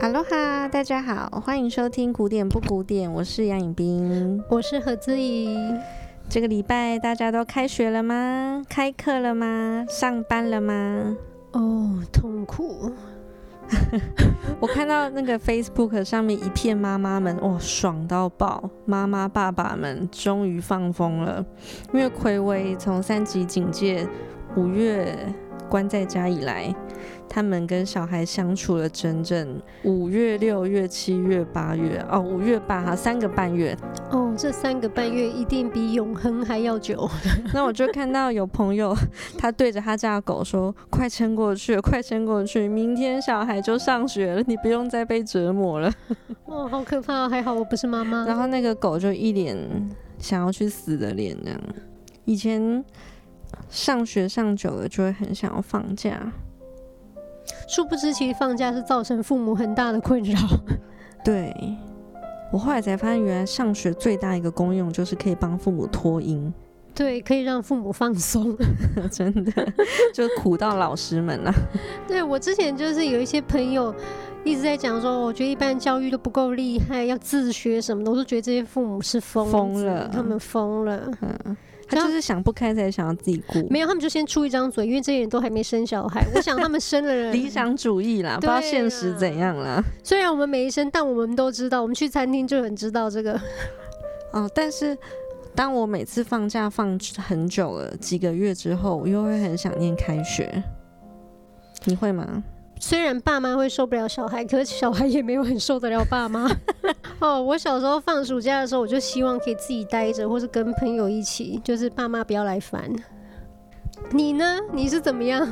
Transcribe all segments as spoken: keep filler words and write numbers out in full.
哈嘍哈，大家好，歡迎收聽古典不古典，我是楊穎彬， 我是何姿怡。 這個禮拜大家都開學了嗎？開課了嗎？上班了嗎？ 哦，痛苦。 我看到那個 Facebook 上面一片媽媽們，哇，爽到爆！媽媽爸爸們終於放風了，因為睽違從三級警戒五月關在家以來，他們跟小孩相處了整整五月、六月、七月、八月，哦，五月半哈，三個半月。 哦，這三個半月一定比永恆還要久。 那我就看到有朋友，他對着他家的狗說：“快撐過去，快撐過去，明天小孩就上學了，你不用再被折磨了。” 哦，好可怕！還好我不是媽媽。 然後那個狗就一臉想要去死的臉，這樣。以前上學上久了，就會很想要放假。 殊不知，其實放假是造成父母很大的困擾。 對，我後來才發現，原來上學最大一個功用就是可以幫父母脫音。 對，可以讓父母放鬆。 真的，就苦到老師們了。 對，我之前就是有一些朋友一直在講說，我覺得一般教育都不夠厲害，要自學什麼的，我都覺得這些父母是瘋瘋了，他們瘋了。嗯。他就是想不開才想要自己顧，沒有，他們就先出一張嘴，因為這些人都還沒生小孩。我想他們生了人理想主義啦，不知道現實怎樣啦。雖然我們沒生，但我們都知道，我們去餐廳就很知道這個。 哦，但是當我每次放假放很久了，幾個月之後，我又會很想念開學。你會嗎？ 雖然爸媽會受不了小孩，可是小孩也沒有很受得了爸媽。哦，我小時候放暑假的時候，我就希望可以自己待着，或是跟朋友一起，就是爸媽不要來煩。你呢？你是怎麼樣？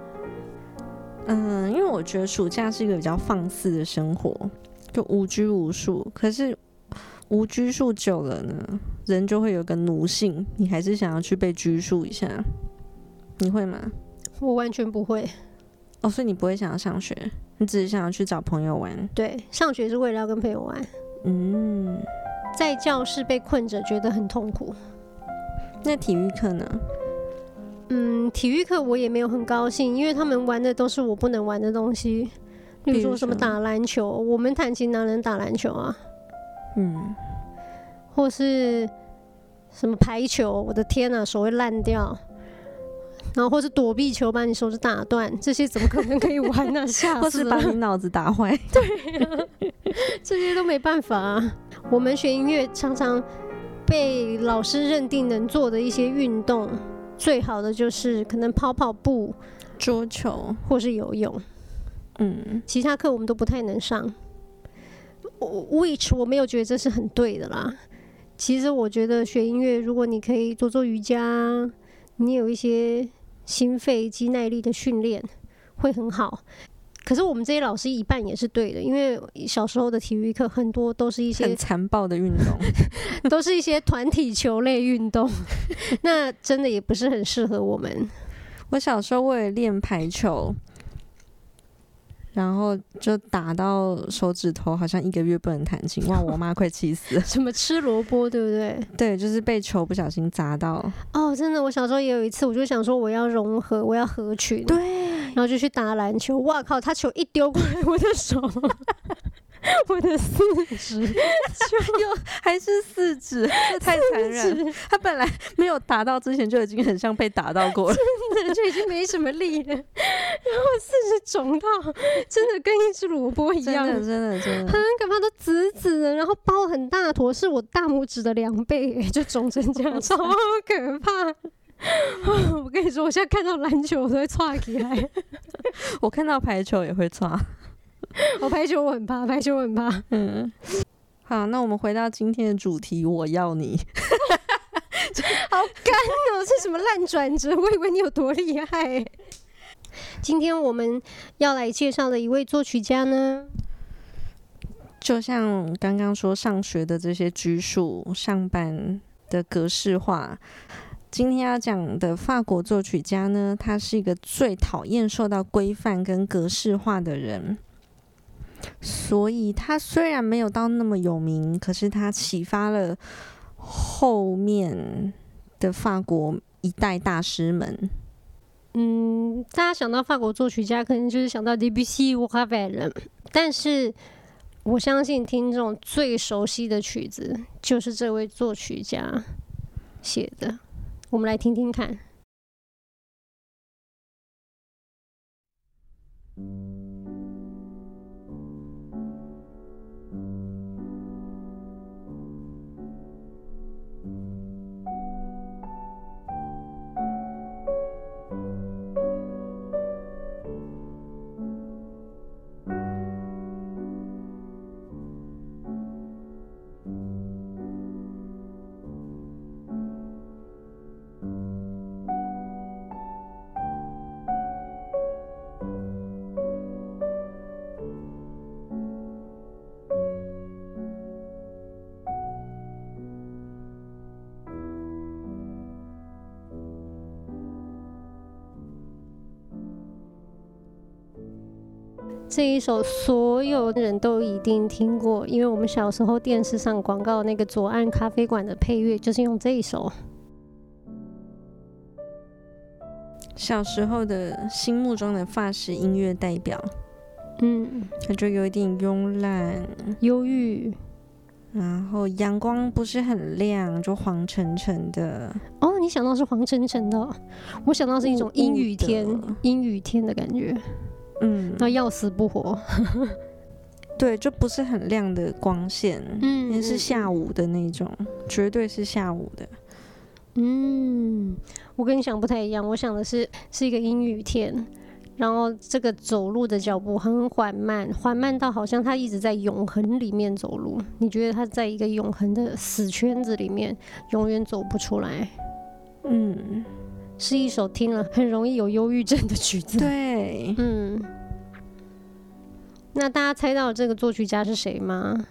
嗯，因為我覺得暑假是一個比較放肆的生活，就無拘無束。可是無拘束久了呢，人就會有個奴性，你還是想要去被拘束一下。你會嗎？ 我完全不會。 哦，所以你不會想要上學，你只是想要去找朋友玩。 對，上學是為了要跟朋友玩。嗯，在教室被困着，覺得很痛苦。 那體育課呢？ 嗯，體育課我也沒有很高興，因為他們玩的都是我不能玩的東西，例如說什麼打籃球，我們彈琴哪能打籃球啊？嗯，或是什麼排球，我的天啊，手會爛掉。然後或是躲避球把你手指打斷，這些怎麼可能可以玩呢、啊？嚇死了！或是把你腦子打壞。對啊，這些都沒辦法啊。我們學音樂常常被老師認定能做的一些運動，最好的就是可能跑跑步、 桌球或是游泳。嗯，其他課我們都不太能上。Which 我沒有覺得這是很對的啦。其實我覺得學音樂，如果你可以做做瑜伽，你有一些心肺肌耐力的訓練會很好，可是我們這些老師一半也是對的，因為小時候的體育課很多都是一些很殘暴的運動， 都是一些團體球類運動，那真的也不是很適合我們。 我小時候為了練排球，然後就打到手指頭，好像一個月不能彈琴，哇！我媽快氣死了。 什麼吃蘿蔔，對不對？ 對，就是被球不小心砸到。 哦，真的，我小時候也有一次，我就想說我要融合，我要合群，對，然後就去打籃球。哇靠，他球一丟過來，我的手，我的四指， 又還是四指，這太殘忍。他本來沒有打到之前就已經很像被打到過了， 真的就已經沒什麼力了，然後四指腫到真的跟一隻蘿蔔一樣， 真的真的真的很可怕，都紫紫的，然後包很大坨，是我大拇指的兩倍，就腫成這樣，超可怕。我跟你說，我現在看到籃球我都會剉起來， 我看到排球也會剉。 我排球我很怕，排球我很怕。嗯， 好，那我們回到今天的主題，我要你。 好乾哦，這什麼爛轉折？我以為你有多厲害。今天我們要來介紹的一位作曲家呢， 就像剛剛說上學的這些拘束，上班的格式化。今天要講的法國作曲家呢，他是一個最討厭受到規範跟格式化的人。所以他雖然沒有到那麼有名，可是他啟發了後面的法國一代大師們。 嗯，大家想到法國作曲家，可能就是想到 Debussy 或 Ravel。 但是我相信聽眾最熟悉的曲子就是這位作曲家寫的，我們來聽聽看。這一首所有人都一定聽過，因為我們小時候電視上廣告那個左岸咖啡館的配樂就是用這一首。 小時候的心目中的法式音樂代表， 嗯， 它就有一點慵懶、 憂鬱， 然後陽光不是很亮，就黃沉沉的。 哦，你想到是黃沉沉的哦，我想到是一種陰雨天、陰雨天的感覺。嗯，那要死不活。 對，就不是很亮的光線，嗯，也是下午的那種，嗯，絕對是下午的。 嗯，我跟你想不太一樣，我想的是是一個陰雨天，然後這個走路的腳步很緩慢，緩慢到好像他一直在永恆裡面走路，你覺得他在一個永恆的死圈子裡面，永遠走不出來。嗯。是一首聽了很容易有憂鬱症的曲子。 對， 嗯，那大家猜到這個作曲家是誰嗎？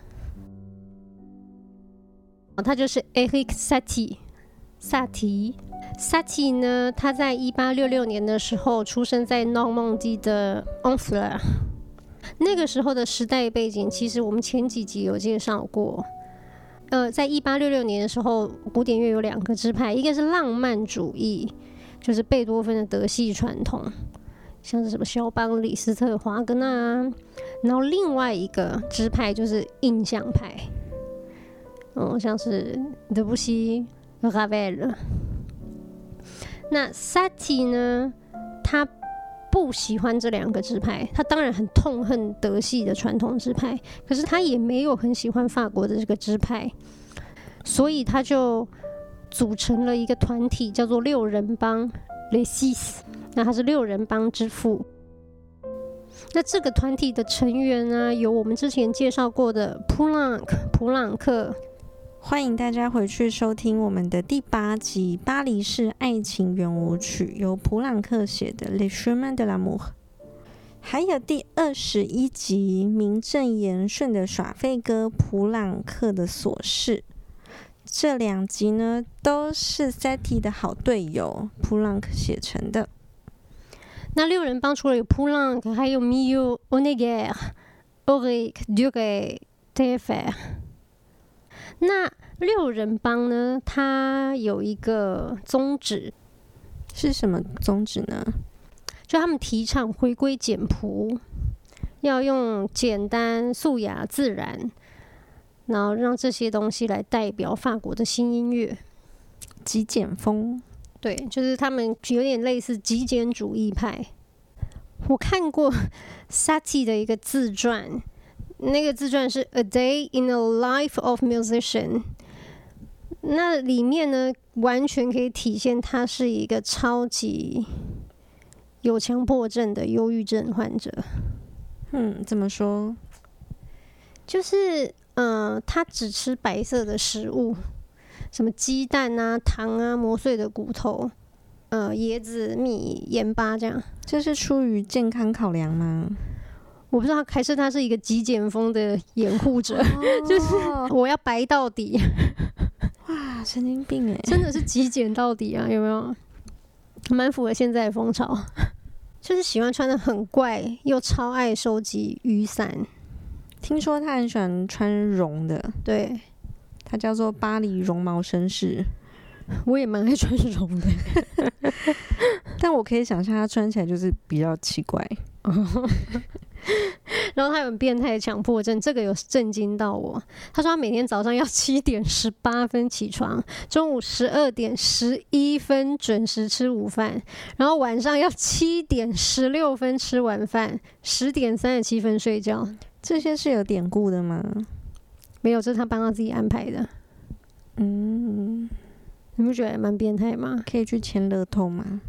他就是 Erik Satie， 薩提。薩提呢，他在一八六六年的時候出生在諾曼底的 Honfleur。那個時候的時代背景，其實我們前幾集有介紹過。呃，在一八六六年的時候，古典樂有兩個支派，一個是浪漫主義。就是貝多芬的德系傳統，像是什麼肖邦、李斯特、華格納，然後另外一個支派就是印象派，嗯，像是德布西、拉威爾。那薩提呢，他不喜歡這兩個支派，他當然很痛恨德系的傳統支派，可是他也沒有很喜歡法國的這個支派，所以他就組成了一個團體，叫做六人幫 Les Six。那他是六人幫之父。那這個團體的成員呢，有我們之前介紹過的普朗克，普朗克。 歡迎大家回去收聽我們的第八集《巴黎市愛情圓舞曲》，由普朗克寫的《Les Chemins de l'Amour》。還有第二十一集名正言順的耍廢歌普朗克的瑣事。這兩集呢，都是 Satie 的好隊友普朗克寫成的。 那六人幫除了有普朗克，還有 Mieux、Honegger、Auric、Duret、Taillefer。那六人幫呢，它有一個宗旨， 是什麼宗旨呢？ 就他們提倡回歸簡樸，要用簡單、素雅、自然。然後讓這些東西來代表法國的新音樂， 極簡風。 對，就是他們有點類似極簡主義派。我看過 Satie 的一個自傳，那個自傳是 A Day in the Life of Musician。那裡面呢，完全可以體現他是一個超級有強迫症的憂鬱症患者。 嗯，怎麼說？ 就是嗯、呃，他只吃白色的食物，什麼雞蛋啊、糖啊、磨碎的骨頭、呃，椰子、米、鹽巴這樣。這是出於健康考量嗎？ 我不知道，還是他是一個極簡風的掩護者，哦、就是我要白到底。 哇，神經病哎！ 真的是極簡到底啊，有沒有？蠻符合現在的風潮，就是喜歡穿得很怪，又超愛收集雨傘。 聽說他很喜歡穿絨的， 對， 他叫做巴黎絨毛紳士。 我也蠻愛穿絨的， 但我可以想象他穿起來就是比較奇怪。 然後他有很變態的強迫症，這個有震驚到我。他說他每天早上要七點十八分起床，中午十二點十一分準時吃午飯，然後晚上要七點十六分吃完飯，十點三十七分睡覺。 這些是有典故的嗎？ 沒有，這是他幫他自己安排的。嗯，你不覺得蠻變態嗎？ 可以去簽樂透嗎？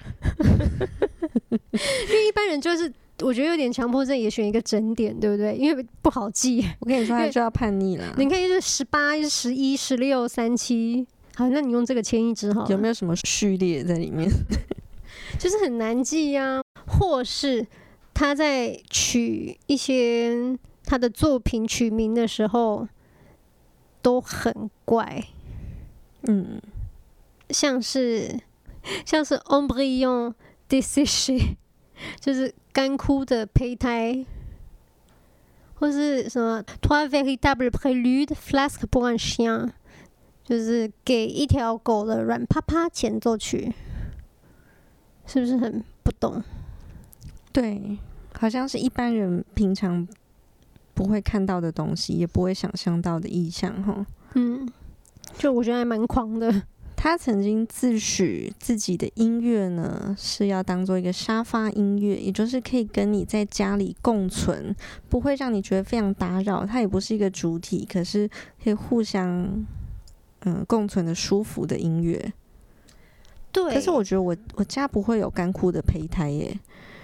因為一般人就是。我覺得有點強迫症，也選一個整點，對不對？因為不好記。 我跟你說，他就要叛逆了。 你可以是十八、十一、十六、三七。好，那你用這個簽一支好了。 有沒有什麼序列在裡面？ 就是很難記呀、啊，或是他在取一些他的作品取名的時候都很怪。嗯，像是像是 embryon desséché， 就是乾枯的胚胎，或是什麼 trois véritables préludes flasques pour un chien， 就是給一條狗的軟趴趴前奏曲，是不是很不懂？ 對，好像是一般人平常不會看到的東西，也不會想象到的意象齁。嗯， 就我覺得還蠻狂的。 他曾經自詡自己的音樂呢，是要當做一個沙發音樂，也就是可以跟你在家裡共存，不會讓你覺得非常打擾。它也不是一個主體，可是可以互相嗯、呃、共存的舒服的音樂。 對， 可是我覺得我我家不會有乾枯的胚胎耶。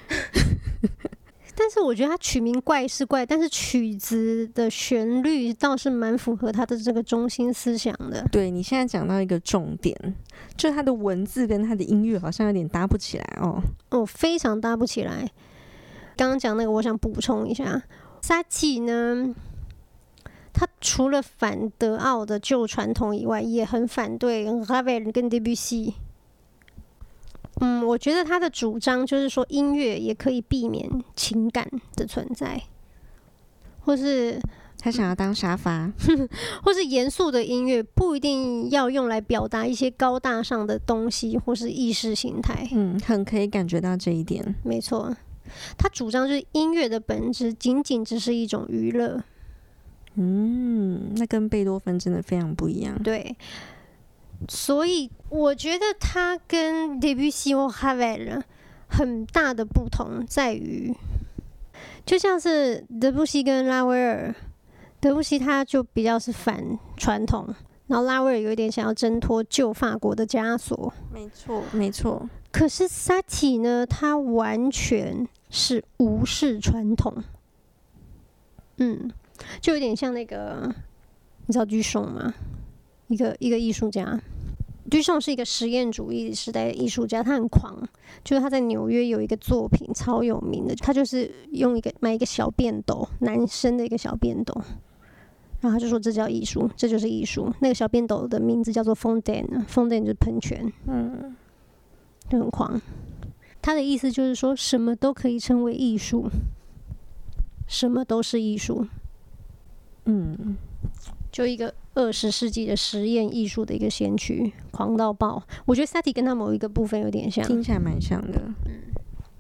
但是我覺得他曲名怪是怪，但是曲子的旋律倒是蠻符合他的這個中心思想的。 對，你現在講到一個重點，就是他的文字跟他的音樂好像有點搭不起來哦。 哦，非常搭不起來。剛剛講那個，我想補充一下，薩提呢，他除了反德奧的舊傳統以外，也很反對拉威爾跟德布西。嗯，我覺得他的主張就是說，音樂也可以避免情感的存在，或是他想要當沙發， 或是嚴肅的音樂不一定要用來表達一些高大上的東西或是意識形態。 嗯，很可以感覺到這一點。 沒錯，他主張就是音樂的本質僅僅只是一種娛樂。 嗯，那跟貝多芬真的非常不一樣。 對。所以我覺得他跟德布西或哈維爾很大的不同在於，就像是德布西跟拉威爾，德布西他就比較是反傳統，然後拉威爾有一點想要掙脫舊法國的枷鎖。 沒錯，沒錯。 可是薩提呢，他完全是無視傳統。嗯，就有點像那個，你知道居松嗎？一個一個藝術家，居松是一個實驗主義時代的藝術家，他很狂，就是他在紐約有一個作品超有名的，他就是用一個買一個小便斗，男生的一個小便斗，然後他就說這叫藝術，這就是藝術。那個小便斗的名字叫做 Fontaine，Fontaine 就是噴泉，嗯，就很狂。他的意思就是說什麼都可以稱為藝術，什麼都是藝術，嗯。就一個二十世紀的實驗藝術的一個先驅，狂到爆。我覺得薩提跟他某一個部分有點像， 聽起來蠻像的。嗯，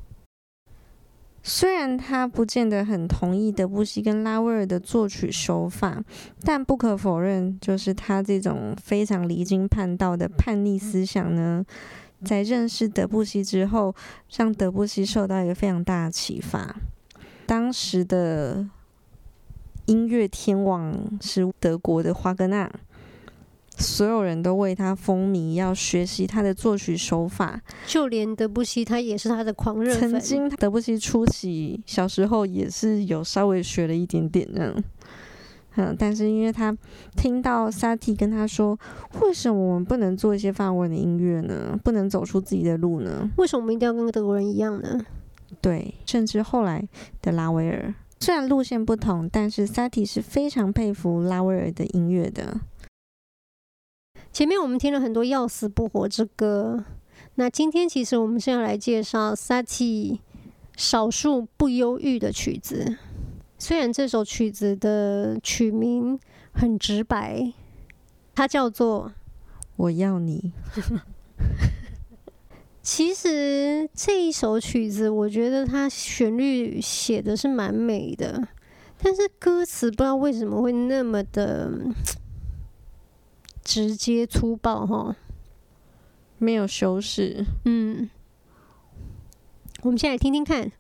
雖然他不見得很同意德布西跟拉威爾的作曲手法，但不可否認，就是他這種非常離經叛道的叛逆思想呢，在認識德布西之後，讓德布西受到一個非常大的啟發。當時的音樂天王是德國的華格納，所有人都為他風靡，要學習他的作曲手法。 就連德布西，他也是他的狂熱粉。 曾經德布西初期小時候也是有稍微學了一點點這樣，嗯，但是因為他聽到薩提跟他說，為什麼我們不能做一些法文的音樂呢？不能走出自己的路呢？ 為什麼我們一定要跟德國人一樣呢？ 對，甚至後來的拉威爾。雖然路線不同，但是薩提是非常佩服拉威爾的音樂的。 前面我們聽了很多要死不活之歌，那今天其實我們是要來介紹薩提少數不憂鬱的曲子。雖然這首曲子的曲名很直白，它叫做《 我要你》。 其實這一首曲子，我覺得它旋律寫的是蠻美的，但是歌詞不知道為什麼會那麼的直接粗暴齁， 沒有修飾。 嗯，我們先來聽聽看。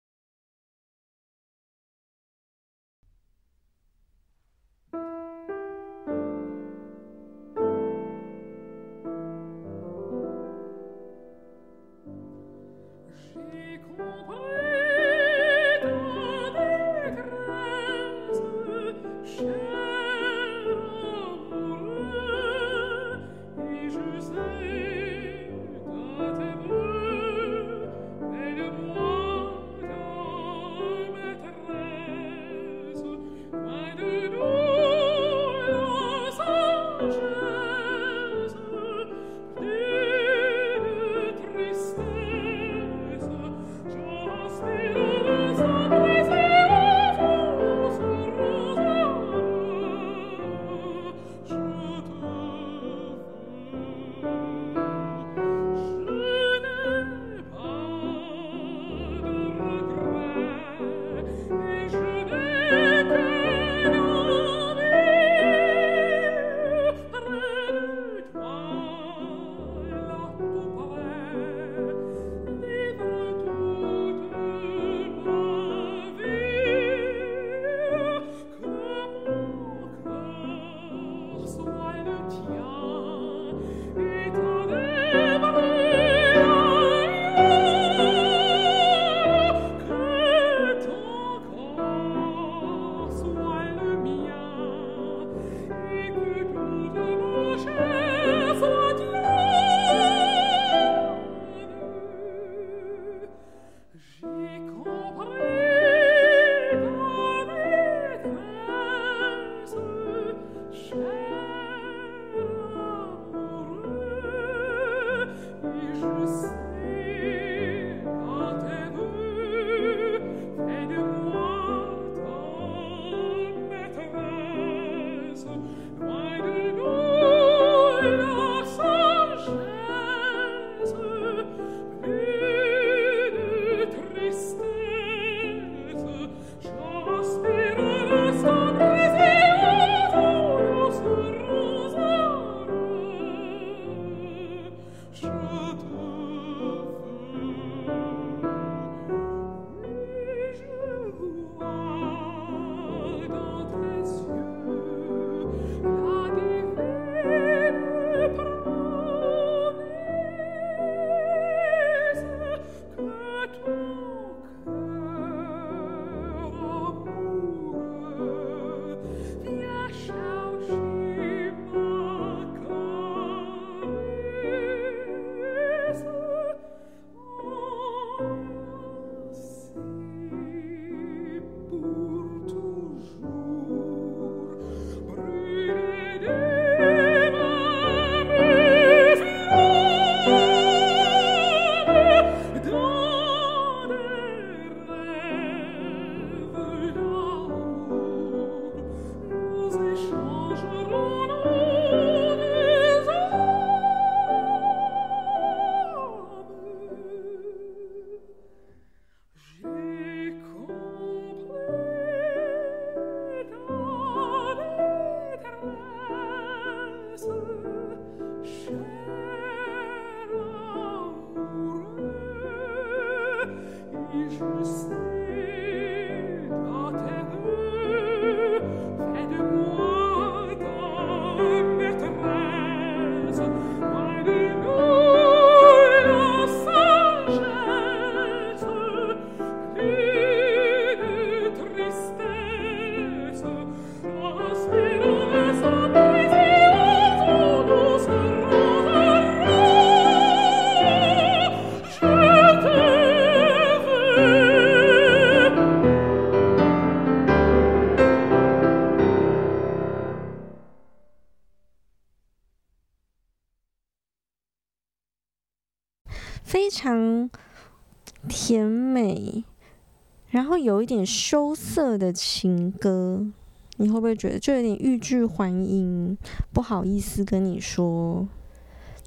非常甜美，然後有一點羞澀的情歌，你會不會覺得就有點欲拒還迎？不好意思跟你說，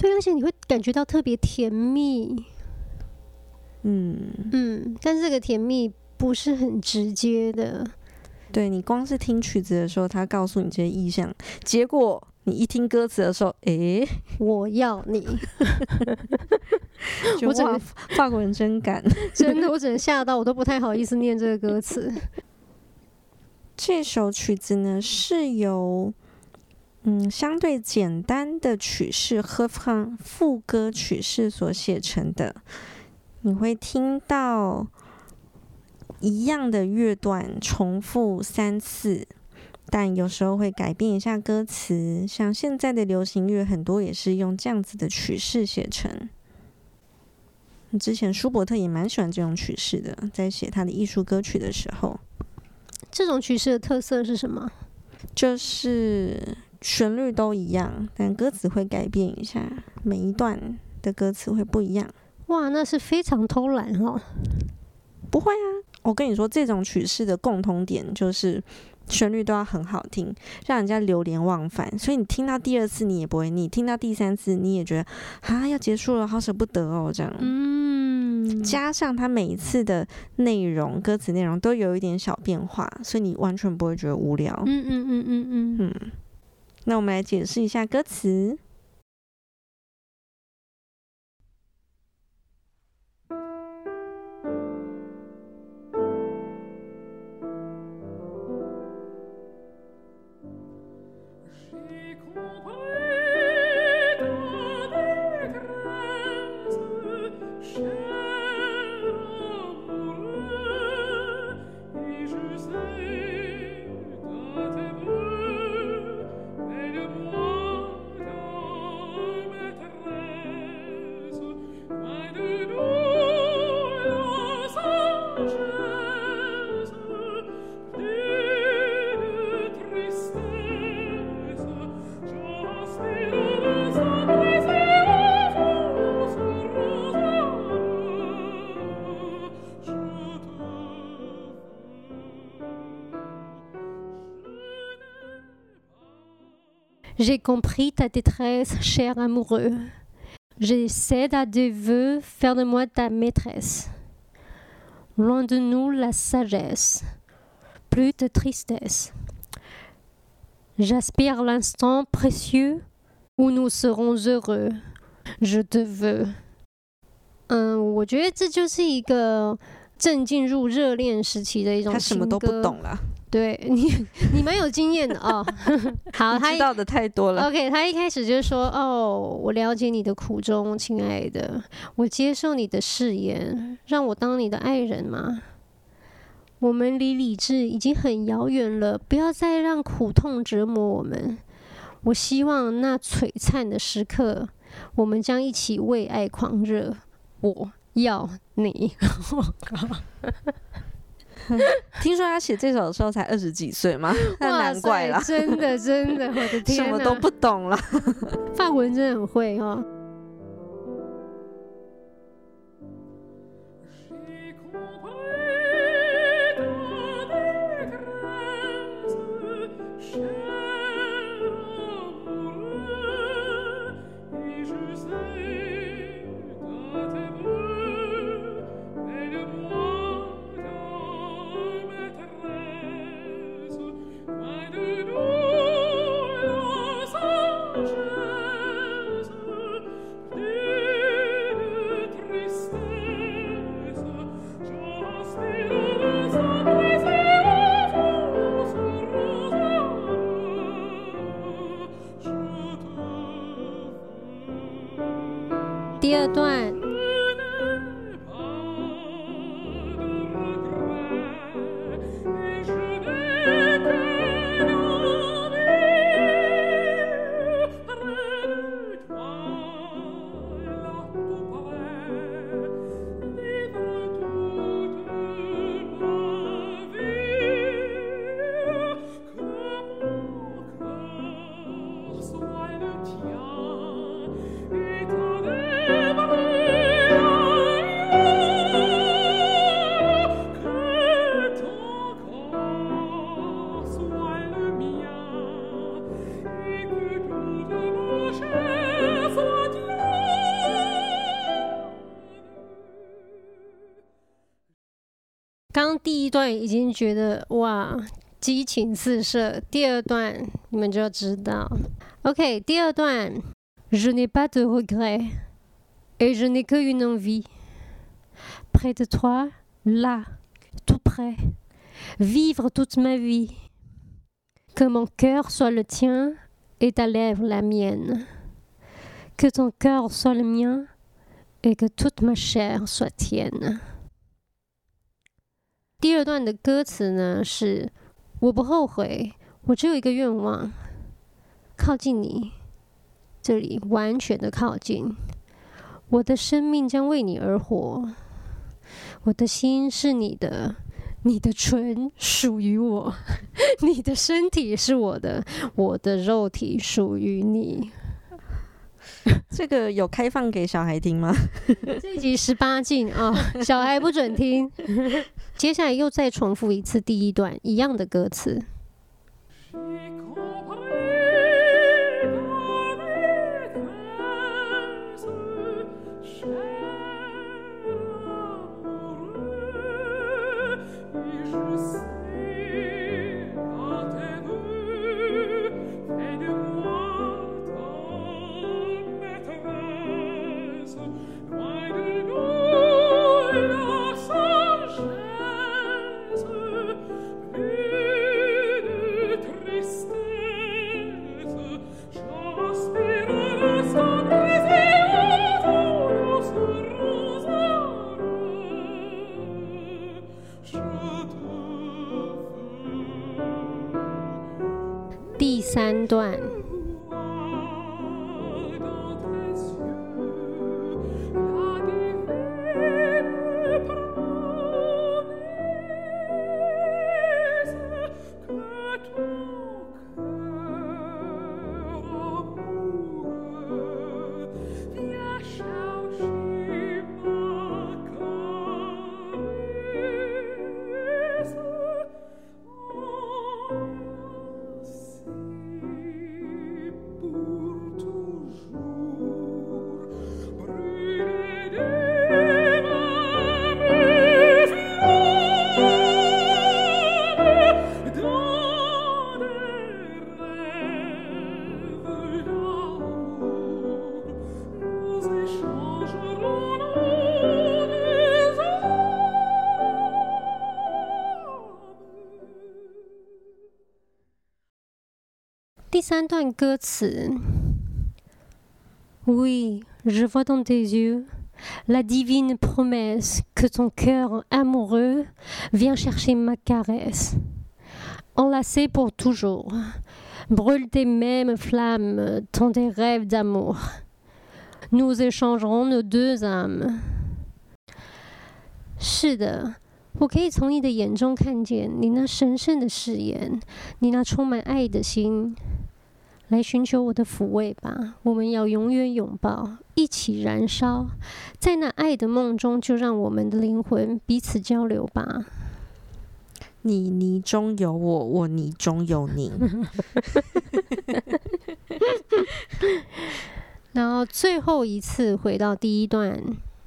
對，而且你會感覺到特別甜蜜。 嗯嗯，但是這個甜蜜不是很直接的。 對，你光是聽曲子的時候，他告訴你這些意象，結果你一聽歌詞的時候，誒， 我要你， 我整個法國人真敢， 真的，我只能嚇到，我都不太好意思念這個歌詞。 這首曲子呢，是由嗯相對簡單的曲式和放副歌曲式所寫成的，你會聽到一樣的樂段重複三次，但有時候會改變一下歌詞。像現在的流行樂，很多也是用這樣子的曲式寫成。之前舒伯特也蠻喜歡這種曲式的，在寫他的藝術歌曲的時候。 這種曲式的特色是什麼？ 就是旋律都一樣，但歌詞會改變一下，每一段的歌詞會不一樣。 哇，那是非常偷懶哦。 不會啊，我跟你說，這種曲式的共同點就是旋律都要很好聽，讓人家流連忘返。所以你聽到第二次你也不會膩，聽到第三次你也覺得啊要結束了，好捨不得哦，這樣。嗯，加上它每一次的內容，歌詞內容都有一點小變化，所以你完全不會覺得無聊。 嗯嗯嗯嗯嗯嗯。那我們來解釋一下歌詞。 J'ai compris ta détresse, cher amoureux. J'essaie à tes voeux faire de moi ta maîtresse. Loin de nous la sagesse, plus de tristesse. J'aspire l'instant précieux où nous serons heureux. Je te veux. 嗯，我觉得这就是一個正進入熱戀時期的一種情歌。他什麼都不懂了。對你，你蠻有經驗的哦。好，他知道的太多了。OK， 他一開始就說：“哦，我了解你的苦衷，親愛的，我接受你的誓言，讓我當你的愛人嘛。我們離理智已經很遙遠了，不要再讓苦痛折磨我們。我希望那璀璨的時刻，我們將一起為愛狂熱。我要你。”我靠！聽說他寫這首的時候才二十幾歲嗎？那難怪啦，真的真的，我的天哪，什麼都不懂了。法國人真的很會哦。第二段。 剛第一段已經覺得哇激情四射，第二段你們就知道。OK， 第二段 Je n'ai pas de regrets et je n'ai qu'une envie près de toi, là, tout près, vivre toute ma vie, que mon cœur soit le tien et ta lèvre la mienne, que ton cœur soit le mien et que toute ma chair soit tienne。 第二段的歌詞呢是我不後悔，我只有一個願望，靠近你，這裡完全的靠近，我的生命將為你而活，我的心是你的，你的唇屬於我，你的身體是我的，我的肉體屬於你。 這個有開放給小孩聽嗎？ 這一集十八禁啊，小孩不准聽。接下來又再重複一次第一段一樣的歌詞。第三段。第三段歌詞 Oui, je vois dans tes yeux la divine promesse que ton cœur amoureux vient chercher ma caresse. Enlacé pour toujours, brûle tes mêmes flammes, tant des rêves d'amour. Nous échangerons nos deux âmes. 是的，我可以從你的眼中看見你那神聖的誓言，你那充滿愛的心。來尋求我的撫慰吧，我們要永遠擁抱，一起燃燒，在那愛的夢中，就讓我們的靈魂彼此交流吧。 你泥中有我，我泥中有你。 然後最後一次回到第一段。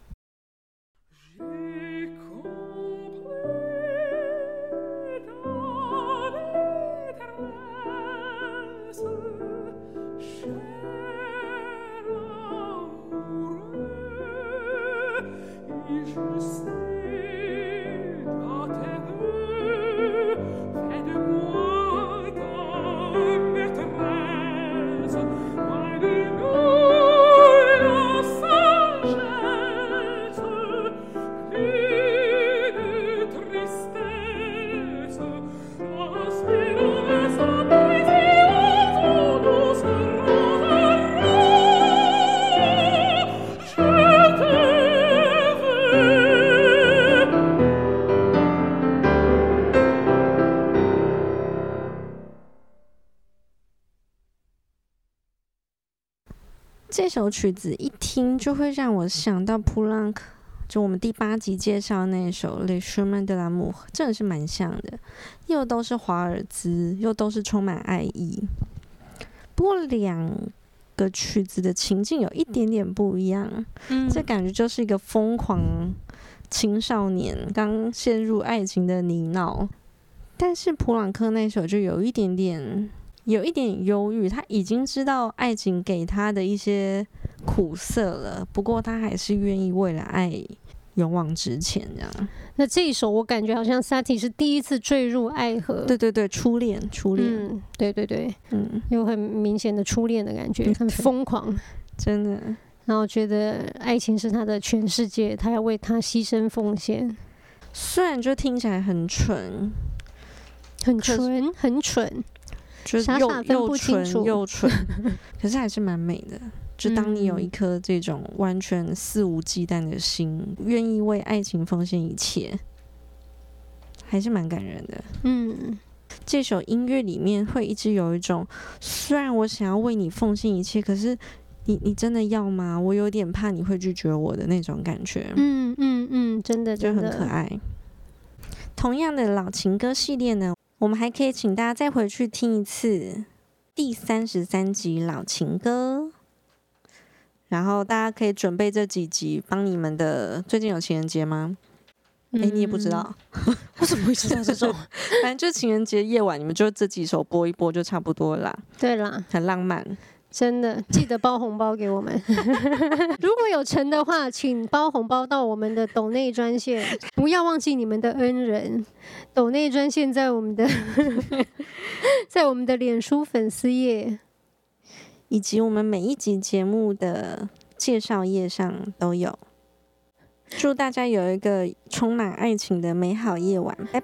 这首曲子一聽就會讓我想到普朗克，就我們第八集介紹那首《Les Chemins de l'amour》，真的是蠻像的，又都是華爾茲，又都是充滿愛意。不過兩個曲子的情境有一點點不一樣，嗯，這感覺就是一個瘋狂青少年剛陷入愛情的泥淖。但是普朗克那首就有一點點，有一點憂鬱，他已經知道愛情給他的一些苦澀了，不過他還是願意為了愛勇往直前這樣。 那這一首我感覺好像 Sati 是第一次墜入愛河。 對對對，初戀，初戀。 嗯，對對對， 嗯， 有很明顯的初戀的感覺，很瘋狂， 真的。 然後覺得愛情是他的全世界，他要為他犧牲奉獻。 雖然就聽起來很蠢。 很純，很蠢， 就是又傻傻分不清楚， 又蠢又蠢，可是還是蠻美的。就當你有一顆這種完全肆無忌憚的心，願意為愛情奉獻一切，還是蠻感人的。嗯，這首音樂裡面會一直有一種，雖然我想要為你奉獻一切，可是你你真的要嗎？我有點怕你會拒絕我的那種感覺。嗯嗯嗯，真的真的就很可愛。同樣的老情歌系列呢，我們還可以請大家再回去聽一次第三十三集老情歌，然後大家可以準備這幾集幫你們的。最近有情人節嗎？哎、嗯欸，你也不知道， 我怎麼會知道這種？ 反正就情人節夜晚，你們就這幾首播一播就差不多了啦。 對啦， 很浪漫。 真的，記得包紅包給我們。如果有成的話，請包紅包到我們的抖內專線，不要忘記你們的恩人。抖內專線在我們的在我們的臉書粉絲頁， 以及我們每一集節目的介紹頁上都有。祝大家有一個充滿愛情的美好夜晚，拜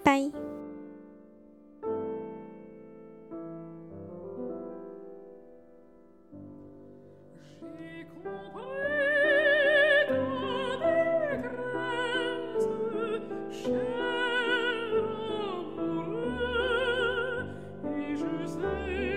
拜。Say